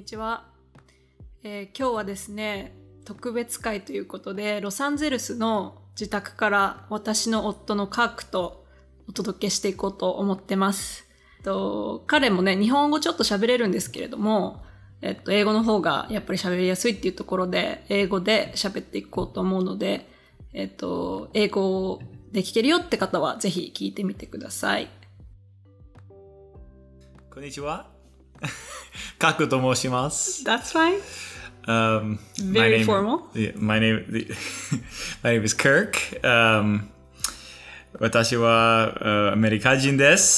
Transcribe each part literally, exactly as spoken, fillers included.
ちは、えー、今日はですね特別会ということでロサンゼルスの自宅から私の夫のカークとお届けしていこうと思ってます。と彼もね日本語ちょっと喋れるんですけれども、えっと、英語の方がやっぱり喋りやすいっていうところで英語で喋っていこうと思うので、えっと、英語で聞けるよって方はぜひ聞いてみてください。 こんにちは。カクと申します。 That's fine. Um, Very my name, formal. Yeah, my name, my name is Kirk. Um, 私は、uh, アメリカ人です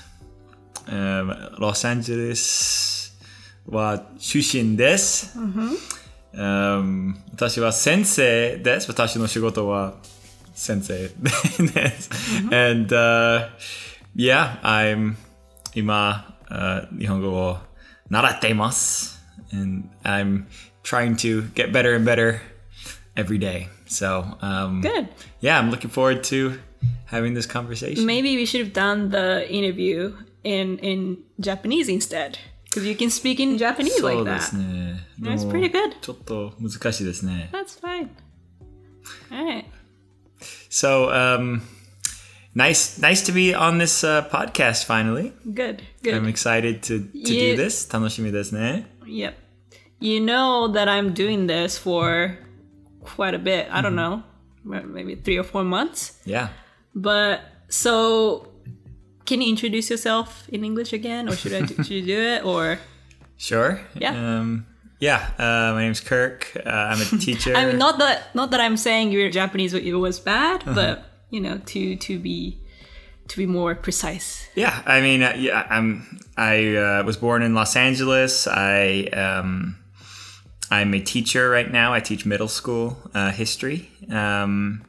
。Um, ロサンゼルスは出身です。 Mm-hmm. Um, 私は先生です。私の仕事は先生です。Mm-hmm. And uh, yeah, I'm 今、uh, 日本語を習っています。And I'm trying to get better and better every day. So, um, Good. Yeah, I'm looking forward to having this conversation. Maybe we should have done the interview in, in Japanese instead. Because you can speak in Japanese like そうで that. すね。 That's pretty good. ちょっと難しいですね。 That's fine. Alright. So, um, nice, nice to be on this uh, podcast finally. Good, good. I'm excited to, to You- do this. 楽しみですね。 Yep. You know that I'm doing this for quite a bit. I don't know. Maybe three or four months. Yeah. But so, can you introduce yourself in English again? Or should I do, should you do it? Or Sure. Yeah. Um, yeah. Uh, my name's Kirk. Uh, I'm a teacher. I mean, not that not that I'm saying your Japanese was bad, but you know, to to be to be more precise. Yeah, I mean, uh, yeah, I'm. I uh, was born in Los Angeles. I um, I'm a teacher right now. I teach middle school uh, history. Um,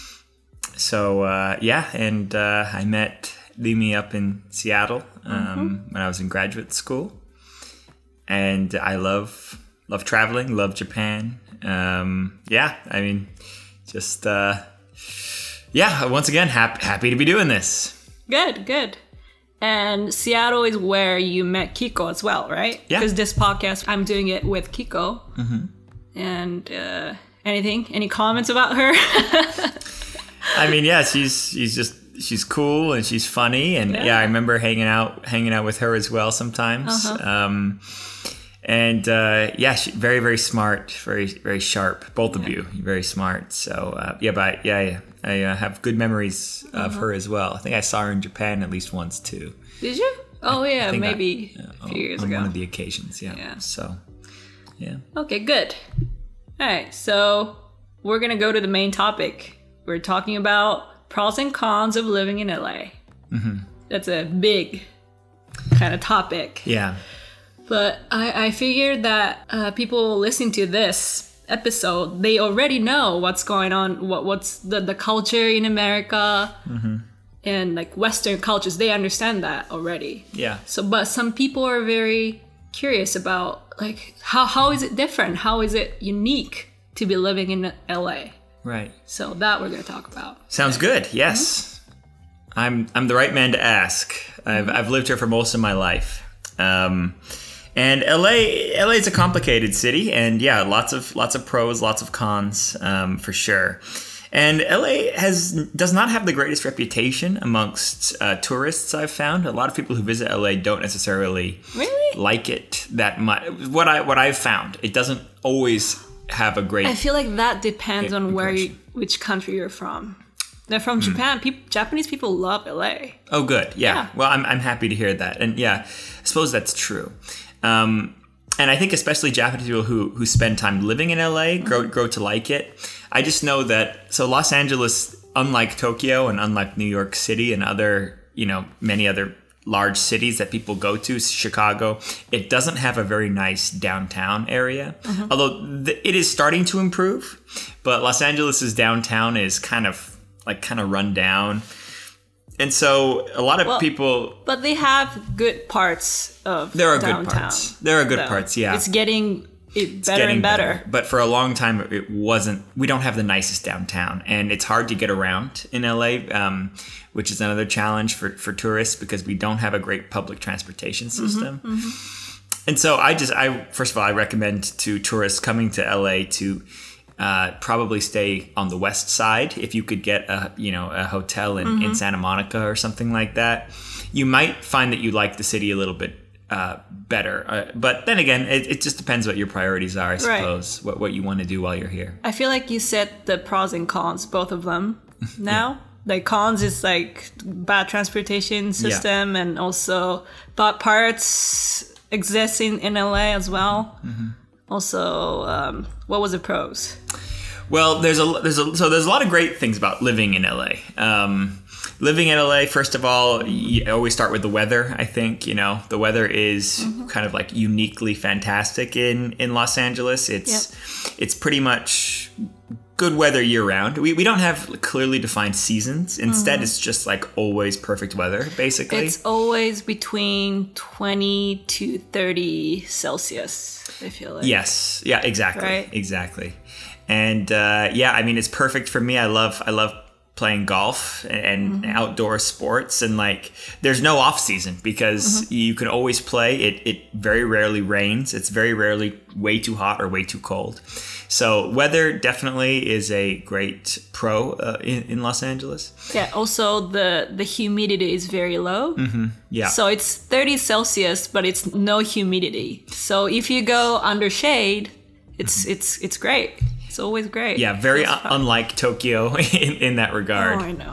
so uh, yeah, and uh, I met Limi up in Seattle um, mm-hmm. when I was in graduate school, and I love love traveling. Love Japan. Um, yeah, I mean, just uh, yeah. Once again, happy happy to be doing this. Good, good. And Seattle is where you met Kiko as well, right? Yeah. Because this podcast, I'm doing it with Kiko. Mm-hmm. And uh, anything? Any comments about her? I mean, yeah, she's she's just she's cool and she's funny, and yeah, Yeah. I remember hanging out hanging out with her as well sometimes. Uh-huh. Um, and uh, yeah, she, very very smart, very very sharp. Both of you, very smart. So uh, yeah, but yeah, yeah. I uh, have good memories of Uh-huh. her as well. I think I saw her in Japan at least once too. Did you? Oh, I yeah, think maybe I- a few years on ago. one of the occasions. Yeah. Yeah. So yeah. Okay, good. All right, so we're going to go to the main topic. We're talking about pros and cons of living in L A. Mm-hmm. That's a big kind of topic. Yeah. But I, I figured that uh, people listening to this episode, they already know what's going on, what what's the, the culture in America Mm-hmm. and like Western cultures. They understand that already. Yeah. So, but some people are very curious about like how how is it different? How is it unique to be living in L A? Right. So that we're going to talk about. Sounds good. Yes. Mm-hmm. I'm I'm the right man to ask. I've mm-hmm. I've lived here for most of my life. Um, and L A L A is a complicated city, and yeah, lots of lots of pros, lots of cons, um, for sure. And L A has does not have the greatest reputation amongst uh, tourists. I've found a lot of people who visit L A don't necessarily Really? like it that much. What I what I've found, it doesn't always have a great. I feel like that depends Yeah, on where you, impression. which country you're from. They're from Japan. Peop Japanese people love L A. Oh, good. Yeah. Yeah. Well, I'm I'm happy to hear that, and yeah, I suppose that's true. Um, and I think especially Japanese people who who spend time living in L A grow grow to like it. I just know that so Los Angeles, unlike Tokyo and unlike New York City and other you know many other large cities that people go to, Chicago, it doesn't have a very nice downtown area. Mm-hmm. Although th- it is starting to improve, but Los Angeles's downtown is kind of like kind of run down. And so a lot of Well, people, But they have good parts of there are downtown. good parts. There are good So parts, yeah. It's getting it It's better getting and better. But for a long time, it wasn't. We don't have the nicest downtown, and it's hard to get around in L A, um, which is another challenge for, for tourists because we don't have a great public transportation system. Mm-hmm, mm-hmm. and so I just, I first of all, I recommend to tourists coming to L A to uh, probably stay on the west side. If you could get a, you know, a hotel in, mm-hmm. in Santa Monica or something like that, you might find that you like the city a little bit uh, better. Uh, but then again, it, it just depends what your priorities are, I suppose, right. what, what you want to do while you're here. I feel like you said the pros and cons, both of them now. Yeah. Like cons is like bad transportation system, yeah. and also bad parts exist in, in L A as well. Mm-hmm. Also, um, what was the pros? Well, there's a there's a so there's a lot of great things about living in L A. Um, living in L A, first of all, you always start with the weather. I think you know the weather is mm-hmm. kind of like uniquely fantastic in in Los Angeles. It's yep. it's pretty much good weather year round. We we don't have clearly defined seasons. Instead, mm-hmm. it's just like always perfect weather, basically. It's always between twenty to thirty Celsius, I feel like. Yes. Yeah, exactly. Right? Exactly. And uh, yeah, I mean, it's perfect for me. I love I love playing golf and mm-hmm. outdoor sports, and like there's no off season because mm-hmm. you can always play. It it very rarely rains. It's very rarely way too hot or way too cold. So weather definitely is a great pro uh, in, in Los Angeles. Yeah, also the, the humidity is very low. Mm-hmm. Yeah. So it's thirty Celsius, but it's no humidity. So if you go under shade, it's mm-hmm. it's it's great. It's always great. Yeah, very un- unlike Tokyo in, in that regard. Oh, I know.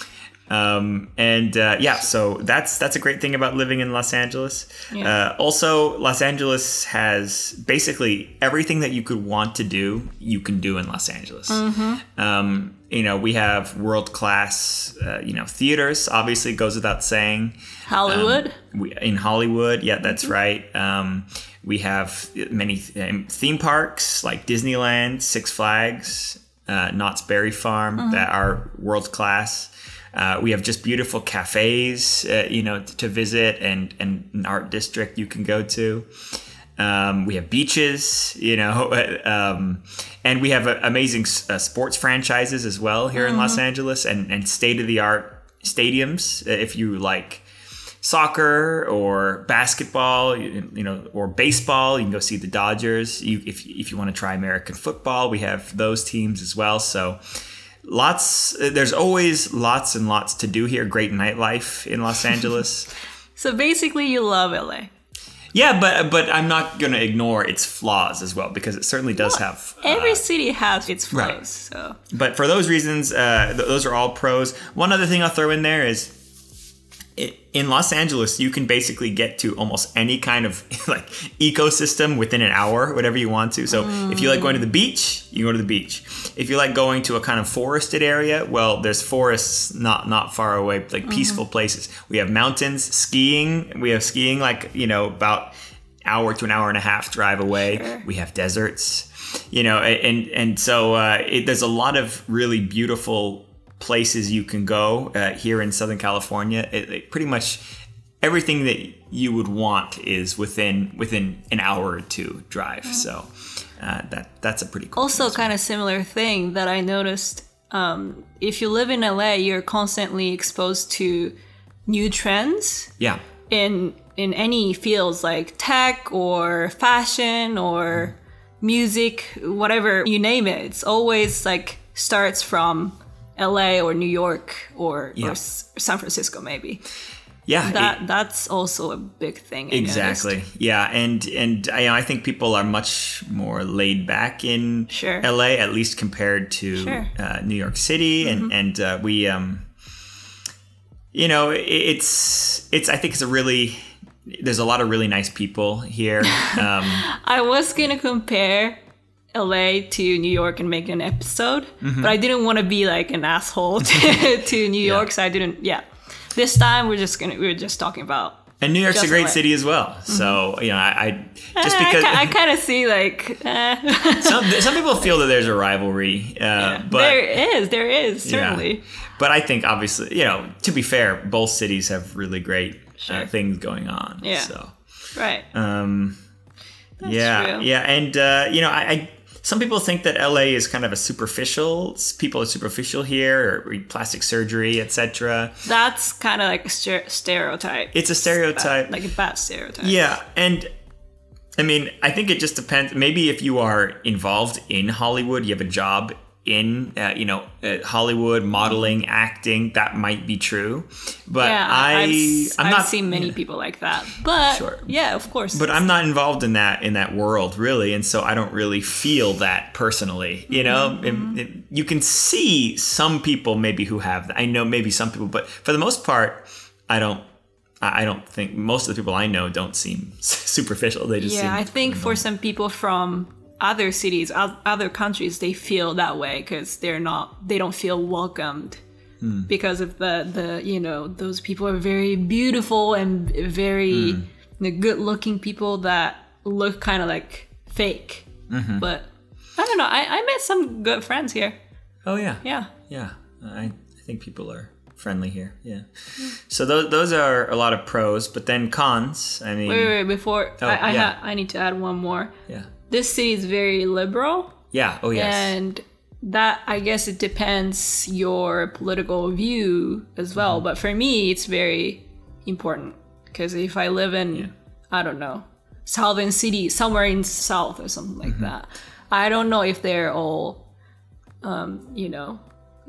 Um, and uh, yeah, so that's that's a great thing about living in Los Angeles. Yeah. Uh, also, Los Angeles has basically everything that you could want to do, you can do in Los Angeles. Mm-hmm. Um, you know, we have world class, uh, you know, theaters. Obviously, goes without saying. Hollywood. Um, we, in Hollywood, yeah, that's mm-hmm. right. Um, we have many th- theme parks like Disneyland, Six Flags, uh, Knott's Berry Farm mm-hmm. that are world class. Uh, we have just beautiful cafes, uh, you know, to visit, and, and an art district you can go to. Um, we have beaches, you know, um, and we have uh, amazing uh, sports franchises as well here mm-hmm. in Los Angeles, and, and state-of-the-art stadiums. If you like soccer or basketball, you, you know, or baseball, you can go see the Dodgers. You, if if you want to try American football, we have those teams as well. So. Lots, there's always lots and lots to do here. Great nightlife in Los Angeles. So basically you love L A. Yeah, but but I'm not going to ignore its flaws as well, because it certainly does well, have... Uh, every city has its flaws. Right. So. But for those reasons, uh, th- those are all pros. One other thing I'll throw in there is, in Los Angeles, you can basically get to almost any kind of like ecosystem within an hour, whatever you want to. So mm. if you like going to the beach, you go to the beach. If you like going to a kind of forested area, well, there's forests not not far away, like mm. peaceful places. We have mountains, skiing. We have skiing like, you know, about hour to an hour and a half drive away. Sure. We have deserts, you know, and and so uh, it, there's a lot of really beautiful places you can go uh, here in Southern California. It, it pretty much everything that you would want is within within an hour or two drive. Mm-hmm. So uh, that that's a pretty cool. Also, kind of similar thing that I noticed. Um, if you live in L A, you're constantly exposed to new trends. Yeah. In in any fields like tech or fashion or mm. music, whatever you name it, it's always like starts from L A or New York or, yeah. or S- San Francisco, maybe. Yeah, that it, that's also a big thing. I exactly. noticed. Yeah, and and I, I think people are much more laid back in sure. L A, at least compared to sure. uh, New York City, mm-hmm. and and uh, we, um, you know, it, it's it's. I think it's a really. There's a lot of really nice people here. Um, I was gonna compare L A to New York and make an episode, mm-hmm. but I didn't want to be like an asshole to, to New York, yeah. so I didn't. Yeah, this time we're just gonna we're just talking about. And New York's a great L A. City as well, mm-hmm. so you know I, I just because I, I kind of see like eh. some some people feel that there's a rivalry, uh, yeah. but there is there is certainly. Yeah. But I think obviously, you know, to be fair, both cities have really great sure. uh, things going on. Yeah. So. Right. Um. That's yeah. true. Yeah, and uh, you know, I. I Some people think that L A is kind of a superficial. People are superficial here, or plastic surgery, et cetera. That's kind of like a ster- stereotype. It's a stereotype, it's bad, like a bad stereotype. Yeah, and I mean, I think it just depends. Maybe if you are involved in Hollywood, you have a job in, uh, you know, uh, Hollywood, modeling, acting, that might be true. But yeah, I, I've, I'm I've not seen many yeah. people like that. But Sure. yeah, of course. But I'm not involved in that in that world really, and so I don't really feel that personally. You know, Mm-hmm. it, it, you can see some people maybe who have that. I know maybe some people, but for the most part, I don't. I don't think most of the people I know don't seem superficial. They just yeah, seem I think for some people from other cities, o- other countries, they feel that way because they're not, they don't feel welcomed Hmm. because of the the you know those people are very beautiful and very Hmm. the good-looking people that look kind of like fake. Mm-hmm. But I don't know. I, I met some good friends here. Oh yeah, Yeah. yeah. I, I think people are friendly here. Yeah. So those those are a lot of pros, but then cons. I mean, Wait, wait, wait. Before Oh, I I, yeah. ha- I need to add one more. yeah, This city is very liberal. yeah. Oh yes. And that, I guess it depends your political view as well. Mm-hmm. But for me, it's very important because if I live in, Yeah. I don't know, Southern City, somewhere in South or something like Mm-hmm. that, I don't know if they're all, um, you know,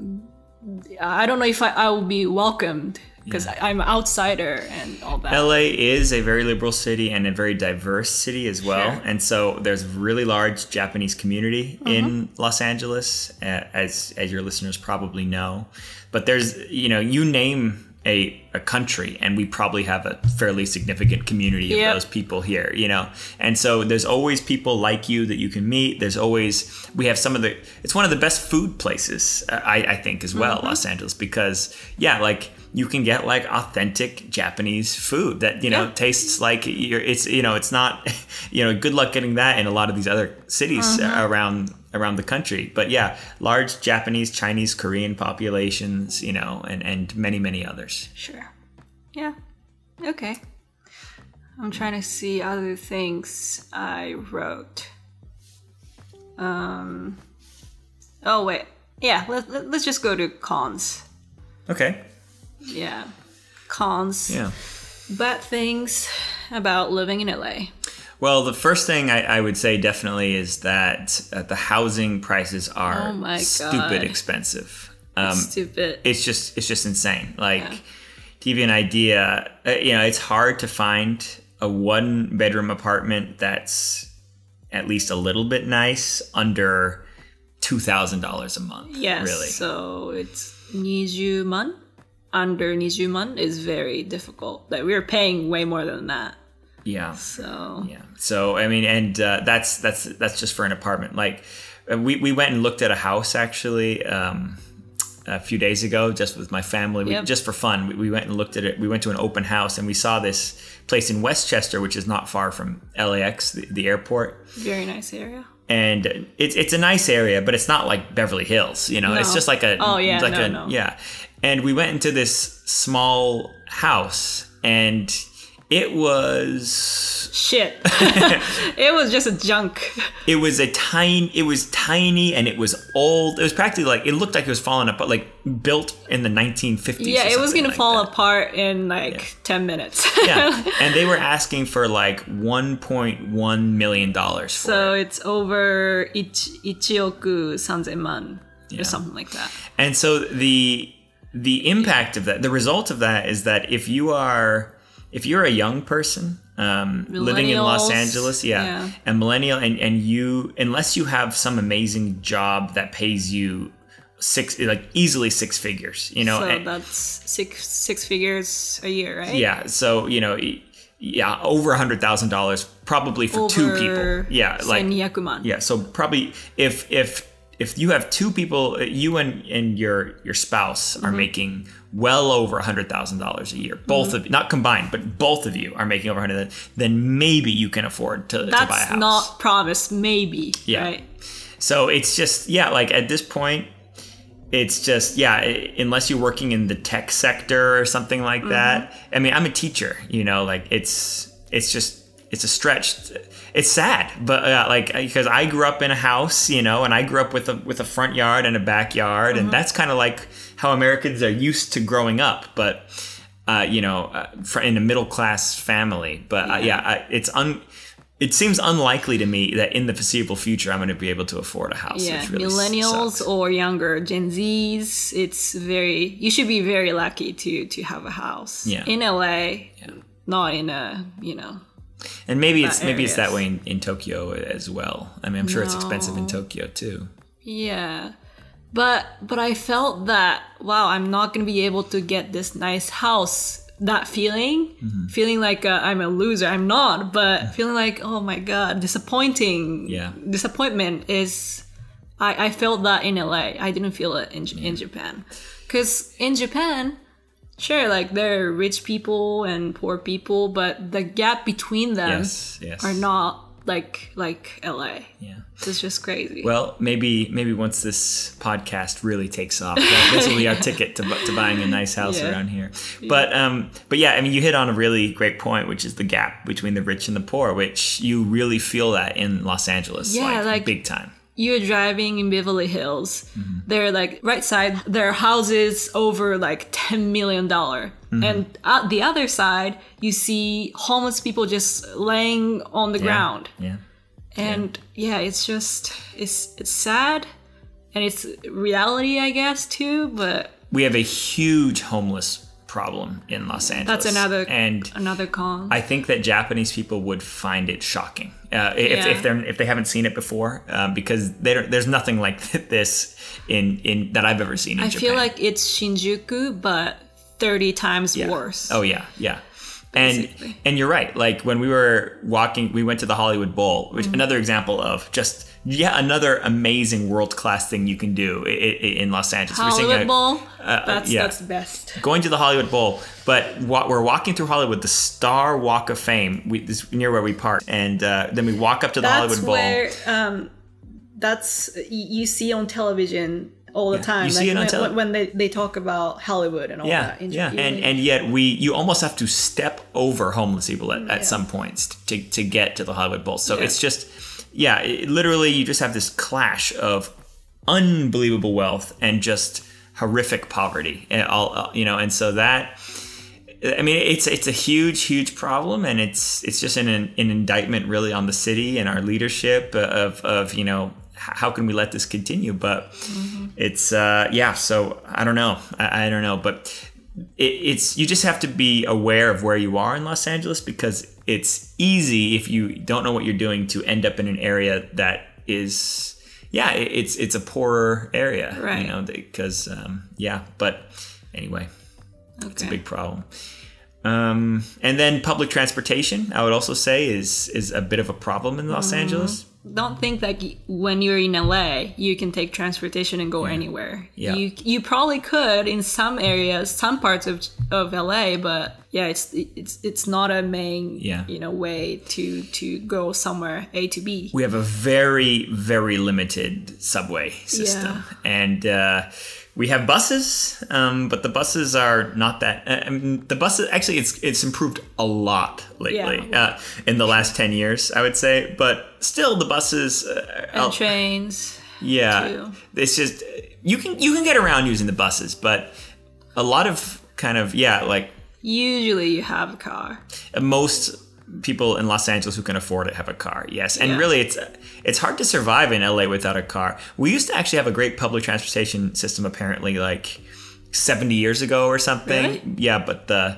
I don't know if I, I will be welcomed because I'm an outsider and all that. L A is a very liberal city and a very diverse city as well. Sure. And so there's a really large Japanese community in Los Angeles, uh, as as your listeners probably know. But there's, you know, you name a, a country and we probably have a fairly significant community of Yep. those people here, you know. And so there's always people like you that you can meet. There's always, we have some of the, it's one of the best food places, uh, I, I think, as well, Los Angeles, because, yeah, like, you can get like authentic Japanese food that, you know, Yeah. tastes like you're, it's, you know, it's not, you know, good luck getting that in a lot of these other cities around around the country. But yeah, large Japanese, Chinese, Korean populations, you know, and, and many, many others. Sure. Yeah. Okay. I'm trying to see other things I wrote. Um. Oh wait. Yeah. Let, let, let's just go to cons. Okay. Yeah. Cons. Yeah. Bad things about living in L A. Well, the first thing I, I would say definitely is that uh, the housing prices are Oh my stupid God. expensive. Um, Stupid. it's just it's just insane. Like, Yeah. to give you an idea, uh, you know, it's hard to find a one bedroom apartment that's at least a little bit nice under two thousand dollars a month. Yes. really. So it's twenty man. Under twenty man is very difficult. Like we're paying way more than that. Yeah. So Yeah. So I mean, and uh, that's that's that's just for an apartment. Like, uh, we we went and looked at a house actually um, a few days ago, just with my family, we, Yep. just for fun. We, we went and looked at it. We went to an open house and we saw this place in Westchester, which is not far from L A X, the, the airport. very nice area. And it's it's a nice area, but it's not like Beverly Hills, you know. No. It's just like a Oh, yeah, like no, a no. yeah. And we went into this small house, and it was Shit. It was just a junk. it was a tiny it was tiny and it was old. It was practically like, it looked like it was falling apart, like built in the nineteen fifties. Yeah, or it was something gonna like fall that. apart in like ten minutes. Yeah, and they were asking for like one point one million dollars for So it. it's over ich, ichioku sanzen man Yeah. or something like that. And so the the impact of that, the result of that is that if you are if you're a young person um, living in Los Millennials, Angeles, yeah, yeah. and millennial, and, and you, unless you have some amazing job that pays you six, like easily six figures, you know, So and- that's six six figures a year, right? yeah, so you know, y- yeah, over a hundred thousand dollars probably for two Over people, yeah, like twenty man. yeah, so probably if if if you have two people, uh, you and and your your spouse are Mm-hmm. making well over a hundred thousand dollars a year, both Mm-hmm. of not combined, but both of you are making over a hundred, then maybe you can afford to, to buy a That's house. not promised, maybe. Yeah. Right? So it's just, yeah, like at this point, it's just, yeah, i- unless you're working in the tech sector or something like that. I mean, I'm a teacher, you know, like it's, it's just, it's a stretch. It's sad, but uh, like, because I grew up in a house, you know, and I grew up with a, with a front yard and a backyard. And that's kind of like how Americans are used to growing up. But, uh, you know, uh, for, in a middle class family, but uh, yeah, I, it's un, it seems unlikely to me that in the foreseeable future I'm going to be able to afford a house. Yeah, which really millennials sucks. or younger Gen Zs, it's very, you should be very lucky to to have a house. Yeah. In L A, Yeah. not in a, you know. And maybe it's uh, maybe it's that areas. way in, in Tokyo as well. I mean, I'm sure it's expensive in No. Tokyo too. Yeah. But but I felt that, wow, I'm not going to be able to get this nice house. That feeling, Mm-hmm. feeling like uh, I'm a loser. I'm not, but feeling like, oh my God, disappointing. Yeah. Disappointment is, I, I felt that in L A. I didn't feel it in, in Japan. Because in Japan, sure, like there are rich people and poor people, but the gap between them Yes, yes. are not like like L A. Yeah. It's just crazy. Well, maybe maybe once this podcast really takes off, that, this will be our ticket to, bu- to buying a nice house Yeah. around here. But um, but yeah, I mean, you hit on a really great point, which is the gap between the rich and the poor, which you really feel that in Los Angeles, Yeah, like, like- big time. You're driving in Beverly Hills. Mm-hmm. They're like right side, there are houses over like ten million dollars. Mm-hmm. And at the other side, you see homeless people just laying on the Yeah. ground. Yeah. And yeah. it's just, it's it's sad. And it's reality, I guess, too. But We have a huge homeless problem in Los Angeles. that's another and another con. I think that Japanese people would find it shocking uh, if, Yeah. if they're if they haven't seen it before, um, because they don't, there's nothing like this in in that I've ever seen in I Japan. feel like it's Shinjuku, but thirty times Yeah. worse. Oh yeah, yeah. And Basically. and you're right. Like when we were walking, we went to the Hollywood Bowl, which another example of just yeah another amazing world class thing you can do i- i- in Los Angeles. We're seeing Hollywood a- Bowl, uh, that's, yeah. that's best. going to the Hollywood Bowl, but wa- we're walking through Hollywood, the Star Walk of Fame, we, this, near where we park, and uh, then we walk up to the That's Hollywood Bowl. where um, that's y- you see on television all the Yeah, time. you see like it on when, tele- when they, they talk about Hollywood and all Yeah, that. in yeah, Japan. and and yet we you almost have to step over homeless people at, at some points to to get to the Hollywood Bowl. So Yeah. it's just yeah, it, literally you just have this clash of unbelievable wealth and just horrific poverty, and all uh, you know, and so that. I mean, it's it's a huge, huge problem, and it's it's just an an indictment really on the city and our leadership of of you know how can we let this continue? But mm-hmm. it's uh, yeah. So I don't know. I, I don't know, but it, it's you just have to be aware of where you are in Los Angeles, because it's easy if you don't know what you're doing to end up in an area that is yeah, it, it's it's a poorer area, Right. you know, because um, yeah. But anyway. okay. It's a big problem. Um, and then public transportation, I would also say, is is a bit of a problem in Los Mm-hmm. Angeles. Don't think that y- when you're in L A, you can take transportation and go anywhere. Yeah. You you probably could in some areas, some parts of of L A, but yeah, it's it's it's not a main Yeah. you know way to to go somewhere A to B. We have a very, very limited subway system. And uh, we have buses, um, but the buses are not that. Uh, I mean, the buses actually, it's it's improved a lot lately Yeah. uh, in the last ten years, I would say. But still, the buses. Uh, And are- trains. Yeah, too. it's just you can you can get around using the buses, but a lot of kind of yeah, like Usually you have a car. most people in Los Angeles who can afford it have a car. Yes, and Yeah. really it's it's hard to survive in L A without a car. We used to actually have a great public transportation system apparently like seventy years ago or something. Really? Yeah, but the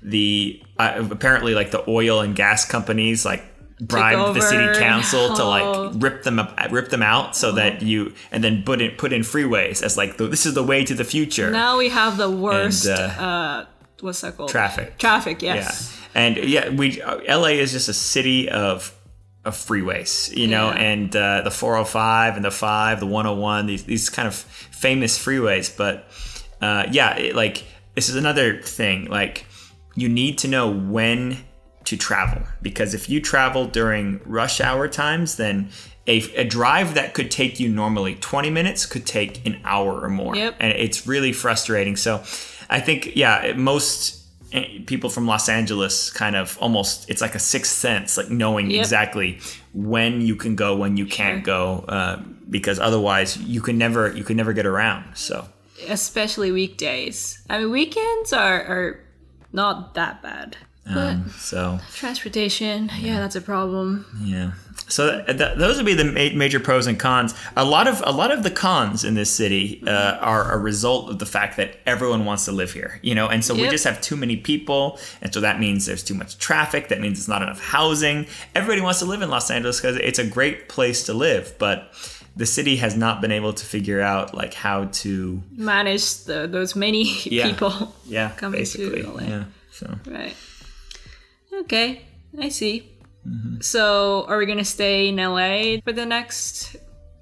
the uh, apparently like the oil and gas companies like bribed the city over. council to Oh. like rip them up, rip them out so that you and then put in put in freeways as like the, this is the way to the future. Now we have the worst. And, uh, uh, what's that called? Traffic. Traffic. Yes. Yeah, and yeah, we L A is just a city of of freeways, you know, Yeah. and uh, the four oh five and the five, the one oh one, these these kind of famous freeways. But uh, yeah, it, like this is another thing. Like you need to know when to travel, because if you travel during rush hour times, then a, a drive that could take you normally twenty minutes could take an hour or more, Yep. and it's really frustrating. So I think yeah, most people from Los Angeles kind of almost it's like a sixth sense, like knowing Yep. exactly when you can go, when you can't go, uh, because otherwise you can never you can never get around. So Especially weekdays. I mean, weekends are, are not that bad. Um, so transportation, yeah, that's a problem. yeah. So th- th- those would be the ma- major pros and cons. A lot of a lot of the cons in this city uh, are a result of the fact that everyone wants to live here, you know, and so we Yep. just have too many people, and so that means there's too much traffic. That means it's not enough housing. Everybody wants to live in Los Angeles because it's a great place to live, but the city has not been able to figure out like how to Manage the, those many Yeah. people. yeah Coming to basically L A. yeah so Right. Okay, I see. Mm-hmm. So, are we gonna stay in L A for the next,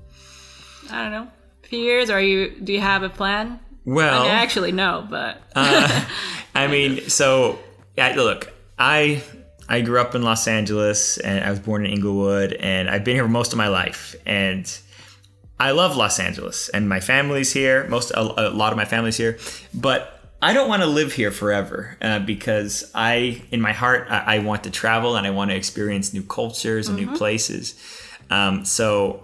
I don't know, few years? Or are you? Do you have a plan? well I mean, actually, no, but uh, I mean, so yeah, look, I I grew up in Los Angeles and I was born in Inglewood and I've been here most of my life and I love Los Angeles and my family's here. Most a, a lot of my family's here, but I don't want to live here forever uh, because I, in my heart, I, I want to travel and I want to experience new cultures and Mm-hmm. new places. Um, so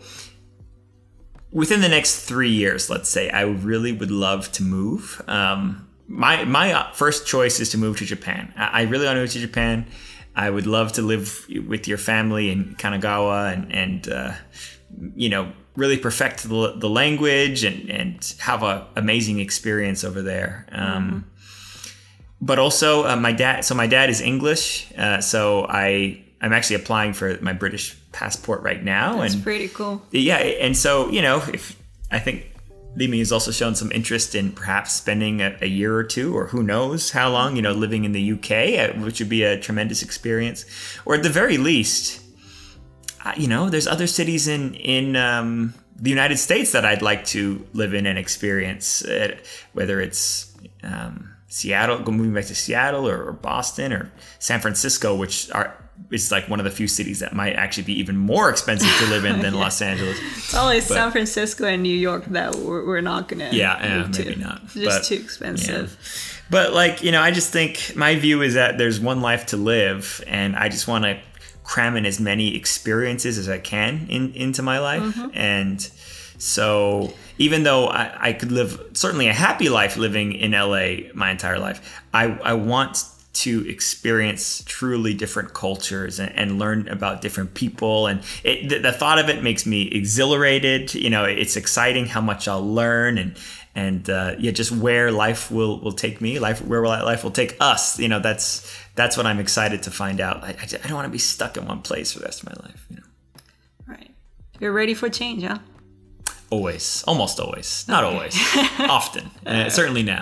within the next three years, let's say, I really would love to move. Um, my my first choice is to move to Japan. I, I really want to move to Japan. I would love to live with your family in Kanagawa and, and uh, you know, really perfect the, the language and, and have an amazing experience over there. Um, mm-hmm. But also uh, my dad, so my dad is English. Uh, so I, I'm actually applying for my British passport right now. that's and pretty cool. Yeah. And so, you know, if I think Limi has also shown some interest in perhaps spending a, a year or two, or who knows how long, you know, living in the U K, uh, which would be a tremendous experience. Or at the very least, uh, you know, there's other cities in, in um, the United States that I'd like to live in and experience, uh, whether it's um, Seattle, go moving back to Seattle or, or Boston or San Francisco, which are is like one of the few cities that might actually be even more expensive to live in than yeah. Los Angeles. It's only but, San Francisco and New York that we're, we're not going yeah, uh, to. Maybe not. It's just but, too expensive. Yeah. But like, you know, I just think my view is that there's one life to live and I just want to cram in as many experiences as I can in, into my life. Mm-hmm. And so even though I, I could live certainly a happy life living in L A my entire life, I, I want to experience truly different cultures and, and learn about different people. And it, the, the thought of it makes me exhilarated. You know, it's exciting how much I'll learn and, and uh, yeah, just where life will, will take me, life where life will take us. You know, that's that's what I'm excited to find out. I, I, just, I don't want to be stuck in one place for the rest of my life. You know, right? You're ready for change, huh? Always, almost always, not okay. always, often, uh, certainly now.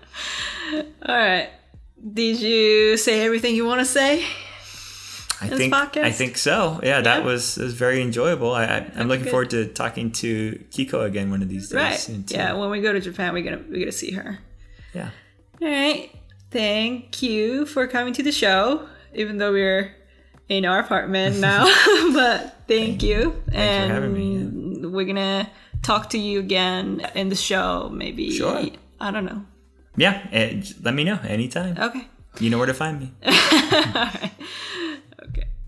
All right. Did you say everything you want to say? I think I think so. Yeah, that yeah. was was very enjoyable. I, I I'm looking good. forward to talking to Kiko again one of these days. Right. Soon yeah. When we go to Japan, we're gonna we're gonna see her. Yeah. All right. Thank you for coming to the show, even though we're in our apartment now. But thank, thank you. Thanks and for having me. Yeah. We're gonna talk to you again in the show. Maybe. Sure. I don't know. Yeah, let me know anytime. Okay. You know where to find me. All right. Okay.